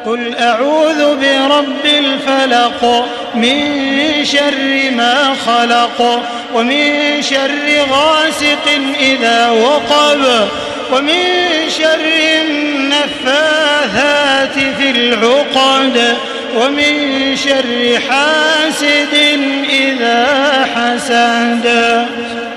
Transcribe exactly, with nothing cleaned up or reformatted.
قل أعوذ برب الفلق من شر ما خلق ومن شر غاسق إذا وقب ومن شر النفاثات في العقد ومن شر حاسد إذا حسد.